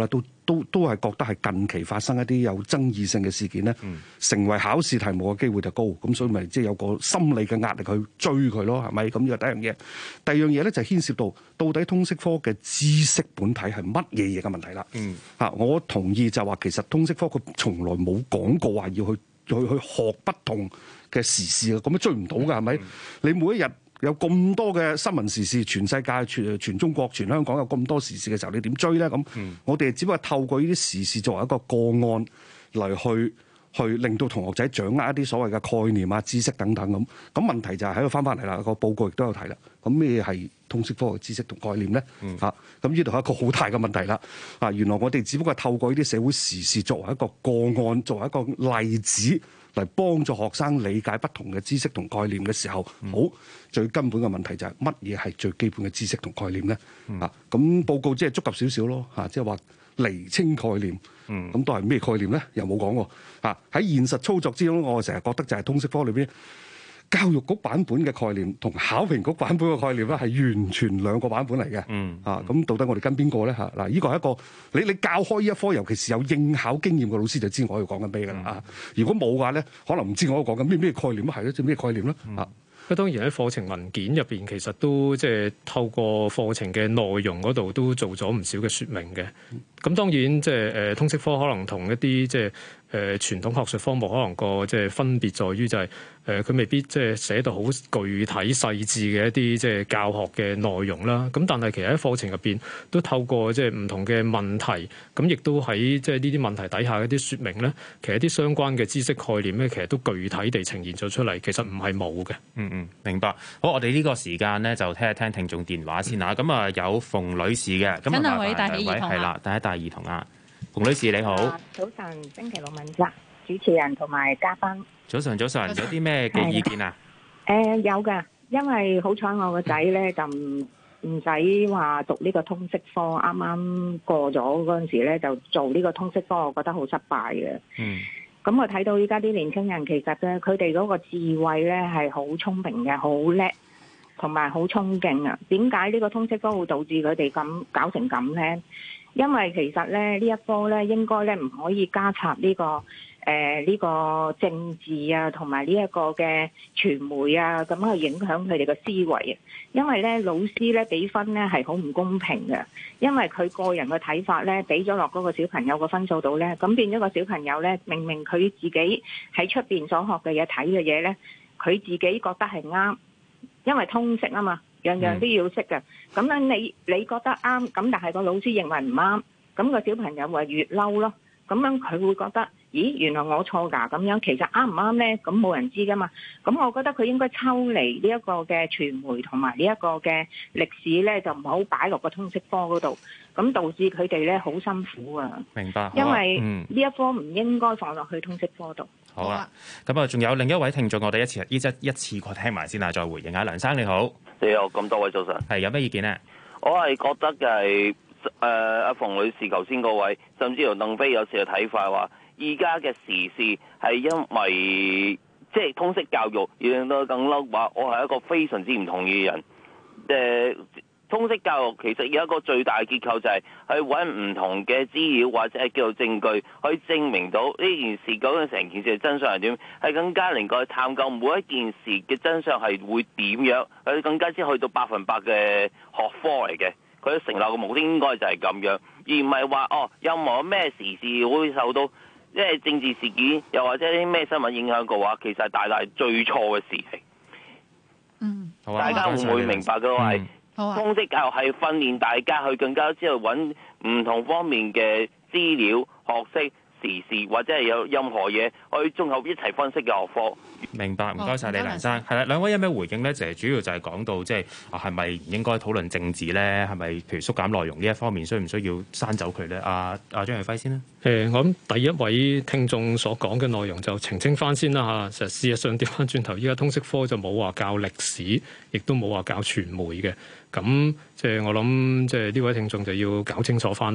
都係覺得係近期發生一啲有爭議性嘅事件咧，成為考試題目嘅機會就高，咁所以咪即係有個心理嘅壓力去追佢咯，係咪？咁呢個第一樣嘢。第二樣嘢咧就牽涉到底通識科嘅知識本體係乜嘢嘢嘅問題啦。我同意就話其實通識科佢從來冇講過話要去學不同嘅時事啊，咁樣追唔到㗎，係咪？你每一日有咁多嘅新聞時事，全世界、全中國、全香港有咁多時事嘅時候，你點追咧？咁我哋只不過透過呢啲時事作為一個個案嚟去令到同學仔掌握一啲所謂嘅概念啊、知識等等咁。咁問題就係喺度翻嚟啦，個報告亦都有提啦。咁咩係通識科嘅知識同概念咧？咁呢度係一個好大嘅問題啦。原來我哋只不過透過呢啲社會時事作為一個個案，作為一個例子，嚟幫助學生理解不同嘅知識同概念嘅時候，好最根本嘅問題就係乜嘢係最基本嘅知識同概念咧？咁報告即係觸及少少咯，即係話釐清概念，咁都係咩概念咧？又冇講喎。喺現實操作之中，我成日覺得就係通識科裏邊教育局版本嘅概念同考評局版本嘅概念咧，係完全兩個版本嚟嘅。咁到底我哋跟邊個咧？嗱，呢個係一個你教開呢一科，尤其是有應考經驗嘅老師就知我要講緊咩㗎啦。如果冇嘅話咧，可能唔知我講緊咩概念咯，係咯，即係咩概念咧？ 咁當然喺課程文件入邊，其實都即係透過課程嘅內容嗰度都做咗唔少嘅説明嘅。咁當然即係通識科可能同一啲即係傳統學術科目可能個即係分別在於就係佢未必即係寫到好具體細緻嘅一啲即係教學嘅內容啦。咁但係其實喺課程入邊都透過即係唔同嘅問題，咁亦都喺即係呢啲問題底下一啲説明咧，其實一啲相關嘅知識概念咧，其實都具體地呈現咗出嚟。其實唔係冇嘅。 明白。好，我哋呢個時間咧就聽一聽聽眾電話先嚇。咁有馮女士嘅，咁兩位戴起耳筒係啦，第一戴耳筒啊。馮女士你好， 早晨，星期六問責主持人同埋嘉賓。 早晨，有啲咩嘅意見啊？ 有㗎，因為好彩我個仔咧就唔使話讀呢個通識科，啱啱過咗嗰陣時咧就做呢個通識科，我覺得好失敗嘅。咁我睇到依家啲年輕人其實咧，佢哋嗰個智慧咧係好聰明嘅，好叻，同埋好衝勁啊！點解呢個通識科會導致佢哋咁搞成咁咧？因為其實咧呢一科咧應該咧唔可以加插呢個政治啊，同埋呢一個嘅傳媒啊，咁去影響佢哋嘅思維啊。因為咧老師咧俾分咧係好唔公平嘅，因為佢個人嘅睇法咧俾咗落嗰個小朋友個分數度咧，咁變咗個小朋友咧明明佢自己喺出邊所學嘅嘢睇嘅嘢咧，佢自己覺得係啱，因為通識啊嘛。樣樣都要識嘅，咁樣你覺得啱，咁但係個老師認為唔啱，咁個小朋友咪越嬲咯。咁樣佢會覺得，咦，原來我錯㗎咁樣，其實啱唔啱呢？咁冇人知㗎嘛。咁我覺得佢應該抽離呢一個嘅傳媒同埋呢一個嘅歷史呢，就唔好擺落個通識科嗰度，咁導致佢哋呢好辛苦啊。 明白， 因為呢一科唔應該放落去通識科度。 好啊，咁啊，仲有另一位聽眾，我哋一次過聽埋先啦，再回應下。梁生你好。 你好，咁多位早晨。 係有咩意見呢？ 我係覺得嘅係阿馮女士頭先嗰位，甚至乎鄧飛有時嘅睇法話，而家嘅時事係因為即係通識教育而令到更嬲話，我係一個非常之唔同意嘅人。通識教育其實有一個最大嘅結構就係去揾唔同嘅資料或者係叫做證據，去證明到呢件事究竟成件事嘅真相係點，係更加能夠去探究每一件事嘅真相係會點樣，佢更加之去到100%嘅學科嚟嘅。佢成立嘅目的應該就係咁樣，而唔係話任何咩時事會受到即係政治事件又或者啲咩新聞影響嘅話，其實係大最錯嘅事情。 好啊， 大家會唔會明白嘅係？通識教育係訓練大家去更加之去揾唔同方面嘅資料、學識、時事或者係有任何嘢去綜合一齊分析嘅學科。 明白，唔該晒你，梁生。係啦，兩位有咩回應咧？就係主要就係講到即係係咪唔應該討論政治咧？係咪譬如縮減內容呢一方面，需唔需要刪走佢咧？阿張偉輝先啦。 我諗第一位聽眾所講嘅內容就澄清翻先啦嚇。事實上調翻轉頭，依家通識科就冇話教歷史，亦都冇話教傳媒嘅。咁即係我諗，即係呢位聽眾就要搞清楚翻啦。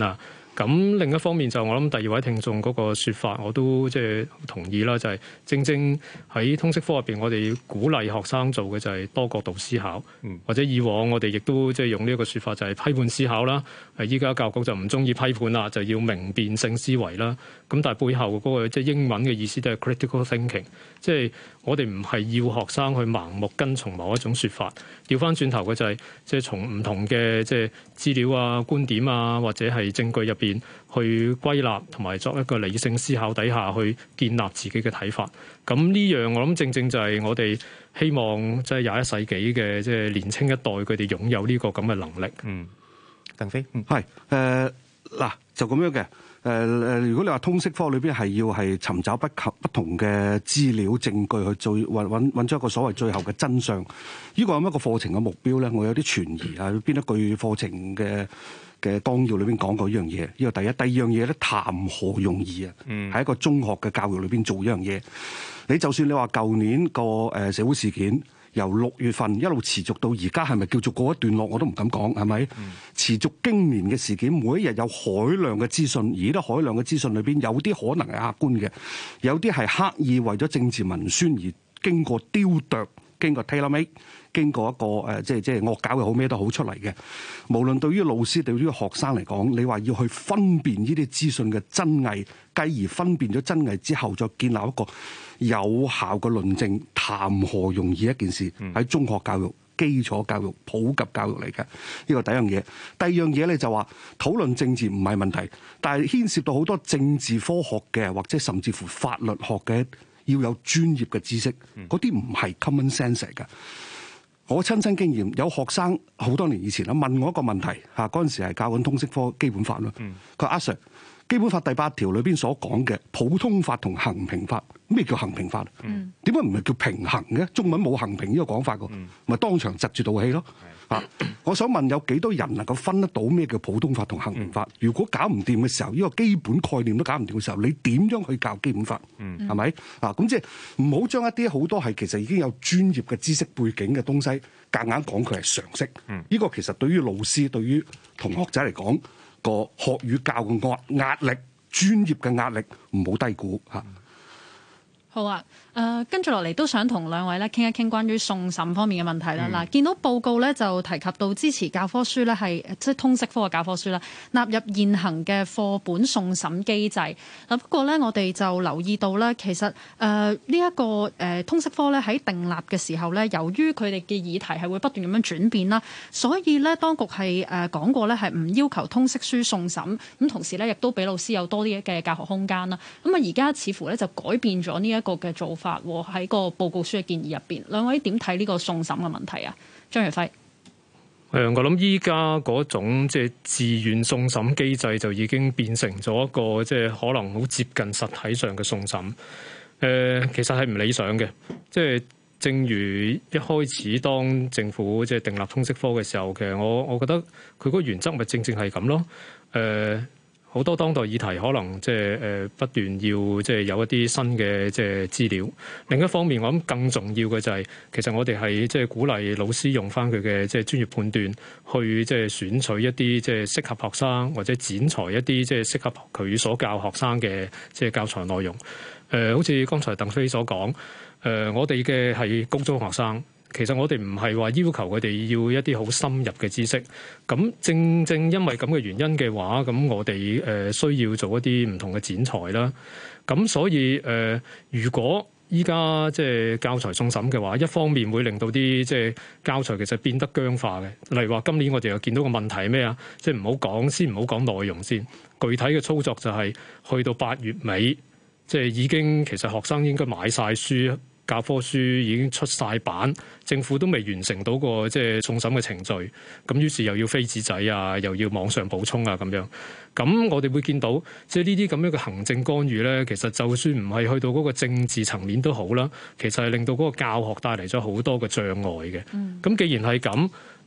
咁另一方面就我諗第二位聽眾嗰個説法，我都即係同意啦，就係正正喺通識科入邊，我哋鼓勵學生做嘅就係多角度思考，或者以往我哋亦都即係用呢一個説法就係批判思考啦。依家教育局就唔中意批判啦，就要明辨性思維啦。咁但係背後嗰個即係英文嘅意思都係 critical thinking， 即係我哋唔係要學生去盲目跟從某一種説法，調翻轉頭嘅就係即係從唔同嘅即係資料啊、觀點啊或者係證據入邊去歸納同埋作一個理性思考底下去建立自己嘅睇法。咁呢樣我諗正正就係我哋希望即係21世紀嘅即係年青一代佢哋擁有呢個咁嘅能力。 鄧飛， 係嗱就咁樣嘅。如果你話通識科裏邊係要係尋找不同嘅資料證據去做揾出一個所謂最後嘅真相，呢個係一個課程嘅目標咧，我有啲存疑啊！邊一句課程嘅綱要裏邊講過呢樣嘢？呢個第一，第二樣嘢咧，談何容易啊！喺一個中學嘅教育裏邊做呢樣嘢，你就算你話舊年個社會事件，由6月份一路持續到而家，係咪叫做過一段落？我都唔敢講，係咪？持續經年嘅事件，每一日有海量嘅資訊，而呢啲海量嘅資訊裏邊，有啲可能係客觀嘅，有啲係刻意為咗政治文宣而經過雕琢、經過 tailor-made、經過一個即係惡搞又好咩都好出嚟嘅。無論對於老師對於學生嚟講，你話要去分辨呢啲資訊嘅真偽，繼而分辨咗真偽之後，再建立一個有效嘅論證，談何容易一件事？喺中學教育、基礎教育、普及教育嚟嘅，呢個第一樣嘢。第二樣嘢咧就話討論政治唔係問題，但係牽涉到好多政治科學嘅，或者甚至乎法律學嘅，要有專業嘅知識，嗰啲唔係 common sense 嚟㗎。我親身經驗，有學生好多年以前啦問我一個問題嚇，嗰陣時係教緊通識科基本法啦。佢話阿 Sir，基本法第8條裏邊所講嘅普通法同衡平法，咩叫衡平法？點解唔係叫平衡嘅？中文冇衡平呢個講法㗎，咪當場窒住道氣咯。我想問有幾多人能夠分得到咩叫普通法同衡平法？如果搞唔掂嘅時候，呢個基本概念都搞唔掂嘅時候，你點樣去教基本法？係咪？咁即係唔好將一啲好多係其實已經有專業嘅知識背景嘅東西，夾硬講佢係常識。呢個其實對於老師、對於同學仔嚟講，個學與教嘅壓力、專業嘅壓力，唔好低估嚇。 好啊，跟住落嚟都想同兩位咧傾一傾關於送審方面嘅問題啦。嗱，見到報告咧就提及到支持教科書咧係即係通識科嘅教科書啦，納入現行嘅課本送審機制。嗱，不過咧我哋就留意到咧，其實呢一個通識科咧喺訂立嘅時候咧，由於佢哋嘅議題係會不斷咁樣轉變啦，所以咧當局係講過咧係唔要求通識書送審，咁同時咧亦都俾老師有多啲嘅教學空間啦。咁啊而家似乎咧就改變咗呢一個嘅做法喺個報告書嘅建議入邊，兩位點睇呢個送審嘅問題啊？張耀輝， 我諗依家嗰種即係自願送審機制就已經變成咗一個即係可能好接近實體上嘅送審。其實係唔理想嘅，即係正如一開始當政府即係訂立通識科嘅時候，其實我覺得佢嗰個原則咪正係咁咯。好多當代議題可能即係不斷要即係有一啲新嘅即係資料。另一方面，我諗更重要嘅就係其實我哋係即係鼓勵老師用翻佢嘅即係專業判斷去即係選取一啲即係適合學生或者剪裁一啲即係適合佢所教學生嘅即係教材內容。好似剛才鄧飛所講，我哋嘅係高中學生。其實我哋唔係話要求佢哋要一啲好深入嘅知識，咁正正因為咁嘅原因嘅話，咁我哋需要做一啲唔同嘅剪裁啦。咁所以如果依家即係教材送審嘅話，一方面會令到啲即係教材其實變得僵化嘅。例如話今年我哋又見到個問題係咩啊？即係唔好講內容先，具體嘅操作就係去到8月尾，即係已經其實學生應該買晒書。教科書已經出晒版，政府都未完成到個即係送審嘅程序，咁於是又要飛紙仔啊，又要網上補充啊咁樣。咁我哋會見到即係呢啲咁樣嘅行政干預咧，其實就算唔係去到嗰個政治層面都好啦，其實係令到嗰個教學帶嚟咗好多嘅障礙嘅。咁既然係咁，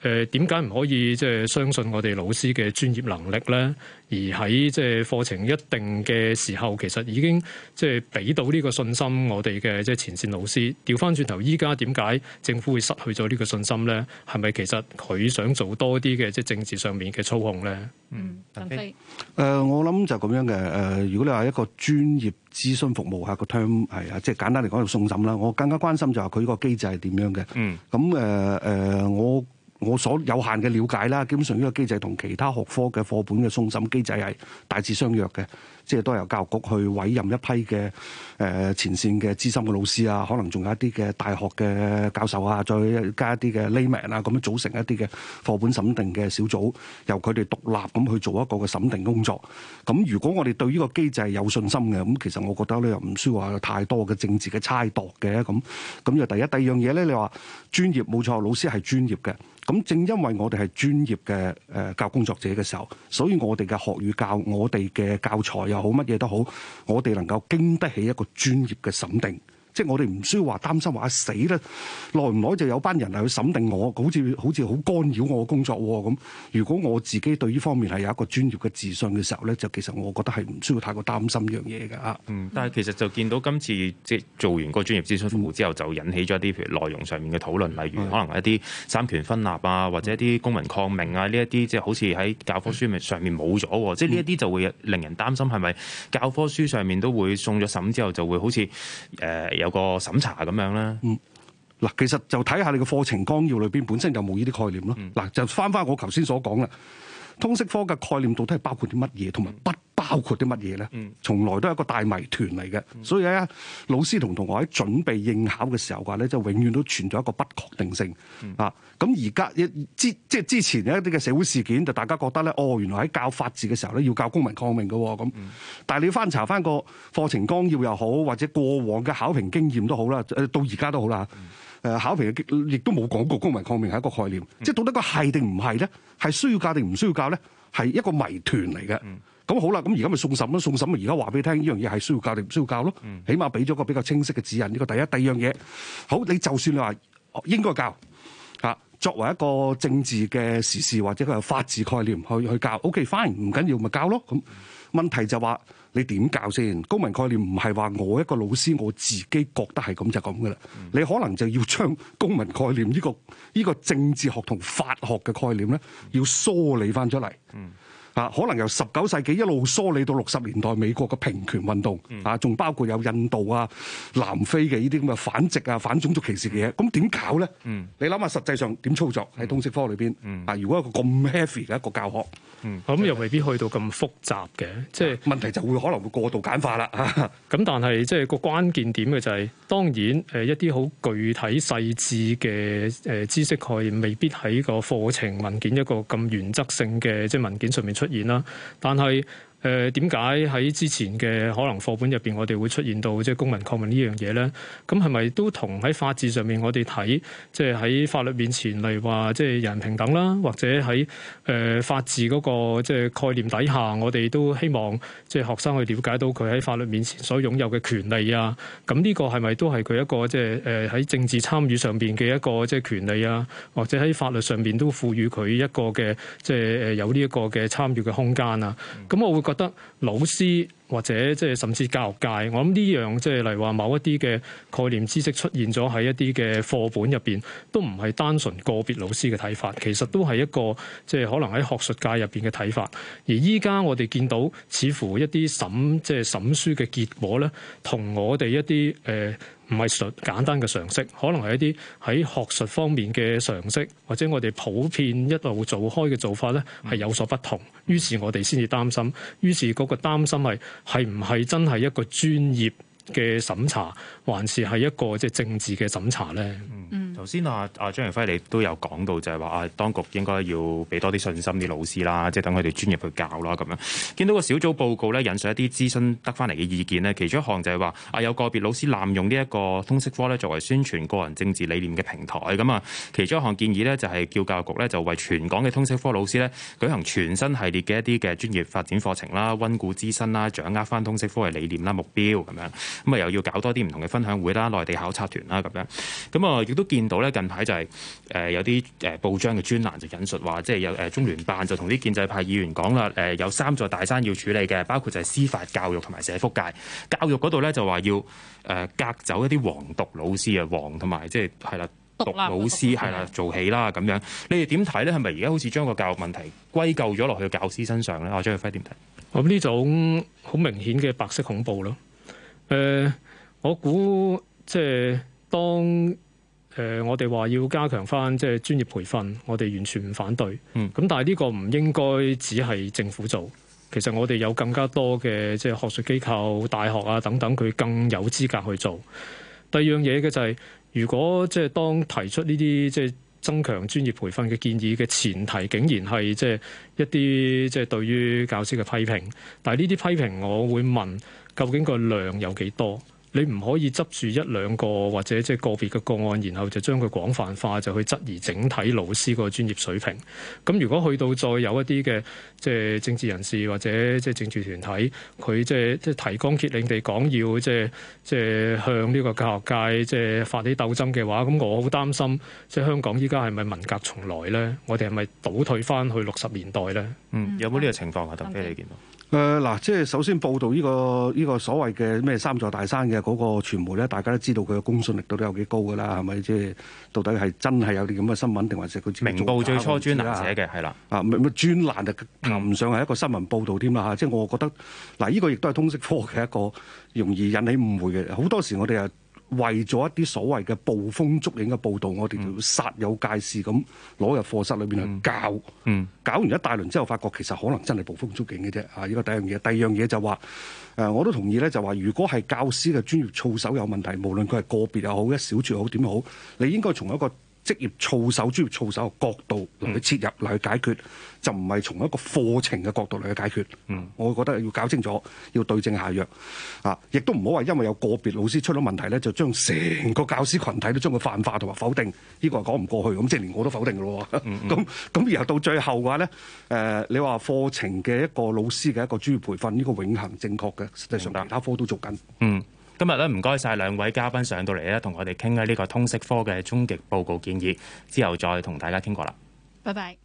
點解唔可以即係相信我哋老師嘅專業能力咧？而喺即係課程一定嘅時候，其實已經即係俾到呢個信心我哋嘅即係前線老師。調翻轉頭，依家點解政府會失去咗呢個信心咧？係咪其實佢想做多啲嘅即係政治上面嘅操控咧？ 鄧飛， 我諗就咁樣嘅。如果你話一個專業諮詢服務係個 term 係啊，即係簡單嚟講就送審啦。我更加關心就係佢個機制係點樣嘅。咁我所有限嘅了解啦，基本上呢個機制同其他學科嘅課本嘅送審機制係大致相若嘅，即係都係由教育局去委任一批嘅前線嘅資深嘅老師啊，可能仲有一啲嘅大學嘅教授啊，再加一啲嘅 layman 啊，咁樣組成一啲嘅課本審定嘅小組，由佢哋獨立咁去做一個嘅審定工作。咁如果我哋對呢個機制有信心嘅，咁其實我覺得咧又唔需要話有太多嘅政治嘅猜度嘅。咁就第一，第二樣嘢咧，你話專業冇錯，老師係專業嘅。咁正因為我哋係專業嘅教育工作者嘅時候，所以我哋嘅學與教，我哋嘅教材又好，乜嘢都好，我哋能夠經得起一個專業嘅審定。即係我哋唔需要話擔心話死咧，耐唔耐就有班人嚟去審定我，好似好干擾我嘅工作喎咁。如果我自己對呢方面係有一個專業嘅自信嘅時候咧，就其實我覺得係唔需要太過擔心呢樣嘢㗎嚇。 但係其實就見到今次即係做完個專業諮詢服務之後，就引起咗一啲譬如內容上面嘅討論，例如可能一啲三權分立啊，或者一啲公民抗命啊，呢一啲即係好似喺教科書上面冇咗，即係呢一啲就會令人擔心係咪教科書上面都會送咗審之後就會好似有個審查咁樣啦。 嗱，其實就睇下你個課程綱要裏邊本身有冇呢啲概念咯。嗱，就翻我頭先所講啦，通識科嘅概念到底係包括啲乜嘢，同埋不包括啲乜嘢咧？從來都係一個大謎團嚟嘅。所以咧，老師同同學喺準備應考嘅時候話咧，就永遠都存在一個不確定性啊。咁而家即係之前有一啲嘅社會事件，就大家覺得咧，原來喺教法治嘅時候咧，要教公民抗命嘅咁。但係你要翻查翻個課程綱要又好，或者過往嘅考評經驗都好啦，到而家都好啦。考評亦都冇講過公民抗命係一個概念，即係到底個係定唔係咧？係需要教定唔需要教咧？係一個謎團嚟嘅。咁好啦，咁而家咪送審咯，送審咪而家話俾你聽，呢樣嘢係需要教定唔需要教咯？起碼俾咗個比較清晰嘅指引。呢個第一，第二樣嘢，好，你就算你話應該教嚇，作為一個政治嘅時事或者佢有法治概念去教 ，OK fine， 唔緊要咪教咯。咁問題就話你點教先？公民概念唔係話我一個老師我自己覺得係咁就咁噶啦。你可能就要將公民概念呢個政治學同法學嘅概念咧，要梳理翻出嚟。可能由19世紀一路梳理到60年代美國嘅平權運動，仲包括有印度啊、南非嘅呢啲咁嘅反殖啊、反種族歧視嘅嘢，咁點搞咧？你諗下實際上點操作喺通識科裏邊？如果一個咁 heavy 嘅一個教學， 咁又未必去到咁複雜嘅，即係問題就會可能會過度簡化啦。 咁但係即係個關鍵點嘅就係，當然一啲好具體細緻嘅知識概念，未必喺個課程文件一個咁原則性嘅即係文件上面出現啦，但係點解喺之前嘅可能課本入邊，我哋會出現到即係公民抗命呢樣嘢咧？咁係咪都同喺法治上面我哋睇，即係喺法律面前，例如話即係人平等啦，或者喺法治嗰個即係概念底下，我哋都希望即係學生去了解到佢喺法律面前所擁有嘅權利啊。咁呢個係咪都係佢一個即係喺政治參與上邊嘅一個即係權利啊？或者喺法律上邊都賦予佢一個嘅即係有呢一個嘅參與嘅空間啊？咁我會覺得老師或者即係甚至教育界，我諗呢樣即係例如話某一啲嘅概念知識出現咗喺一啲嘅課本入邊，都唔係單純個別老師嘅睇法，其實都係一個即係可能喺學術界入邊嘅睇法。而依家我哋見到似乎一啲即係審書嘅結果咧，同我哋一啲唔係簡單嘅常識，可能係一啲喺學術方面嘅常識，或者我哋普遍一路做開嘅做法咧，係有所不同。於是我哋先至擔心，於是嗰個擔心係唔係真係一個專業嘅審查，還是係一個即係政治嘅審查咧？ 頭先張揚輝你都有講到，就係話當局應該要俾多啲信心啲老師啦，即係等佢哋專業去教啦咁樣。見到個小組報告咧，引述一啲諮詢得翻嚟嘅意見咧，其中一項就係話有個別老師濫用呢一個通識科咧作為宣傳個人政治理念嘅平台咁啊。其中一項建議咧就係叫教育局咧就為全港嘅通識科老師咧舉行全新系列嘅一啲嘅專業發展課程啦，溫故知新啦，掌握翻通識科嘅理念啦、目標咁樣。咁又要搞多啲唔同嘅分享會啦、內地考察團啦咁樣。咁亦都見到到咧近排就係有啲報章嘅專欄就引述話，即係有中聯辦就同啲建制派議員講啦，有3座大山要處理嘅，包括就係司法、教育同埋社福界。教育嗰度咧就話要革走一啲黃獨老師啊，黃同埋即係係啦。獨老師係啦，做起啦咁樣，你哋點睇咧？係咪而家好似將個教育問題歸咎咗落去教師身上咧？我張耀輝點睇？ 我呢種好明顯嘅白色恐怖咯。我估即係當我哋話要加強翻即係專業培訓，我哋完全唔反對。咁但係呢個唔應該只係政府做，其實我哋有更加多嘅即係學術機構、大學啊等等，佢更有資格去做。第二樣嘢嘅就係，如果即係當提出呢啲即係增強專業培訓嘅建議嘅前提，竟然係即係一啲即係對於教師嘅批評，但係呢啲批評，我會問究竟個量有幾多？你唔可以執住1、2個或者即係個別嘅個案，然後就將佢廣泛化，就去質疑整體老師個專業水平。咁如果去到再有一啲嘅即係政治人士或者即係政治團體，佢即係提綱挈領地講要即係向呢個教學界即係發起鬥爭嘅話，咁我好擔心即係香港依家係咪文革重來咧？我哋係咪倒退翻去60年代咧？ 有冇呢個情況啊？鄧飛你見到？ 嗱，即係首先報道呢個所謂嘅咩3座大山嘅嗰個傳媒咧，大家都知道佢嘅公信力到底有幾高㗎啦，係咪？即係到底係真係有啲咁嘅新聞，定還是佢明報最初專欄寫嘅係啦？乜專欄就談唔上係一個新聞報導添啦嚇。即係我覺得嗱，呢個亦都係通識科嘅一個容易引起誤會嘅。好多時我哋係為咗一啲所謂嘅捕風捉影嘅報導，我哋就要煞有介事咁攞入課室裏邊去教。搞完一大輪之後，發覺其實可能真係捕風捉影嘅啫。呢個第一樣嘢。第二樣嘢就話我都同意咧，就話如果係教師嘅專業操守有問題，無論佢係個別又好，一小撮又好，點都好，你應該從一個職業操守、專業操守嘅角度嚟去切入嚟去解決，就唔係從一個課程嘅角度嚟去解決。我覺得要搞清楚，要對症下藥亦都唔好話因為有個別老師出咗問題咧，就將成個教師群體都將佢泛化同埋否定，呢個係講唔過去。咁即係連我都否定嘅咯。咁然後到最後嘅話咧，你話課程嘅一個老師嘅一個專業培訓，呢個永恆正確嘅，實際上其他科都做緊。 今日咧唔該晒兩位嘉賓上到嚟咧，同我哋傾下呢個通識科嘅終極報告建議，之後再同大家傾過啦。 拜拜。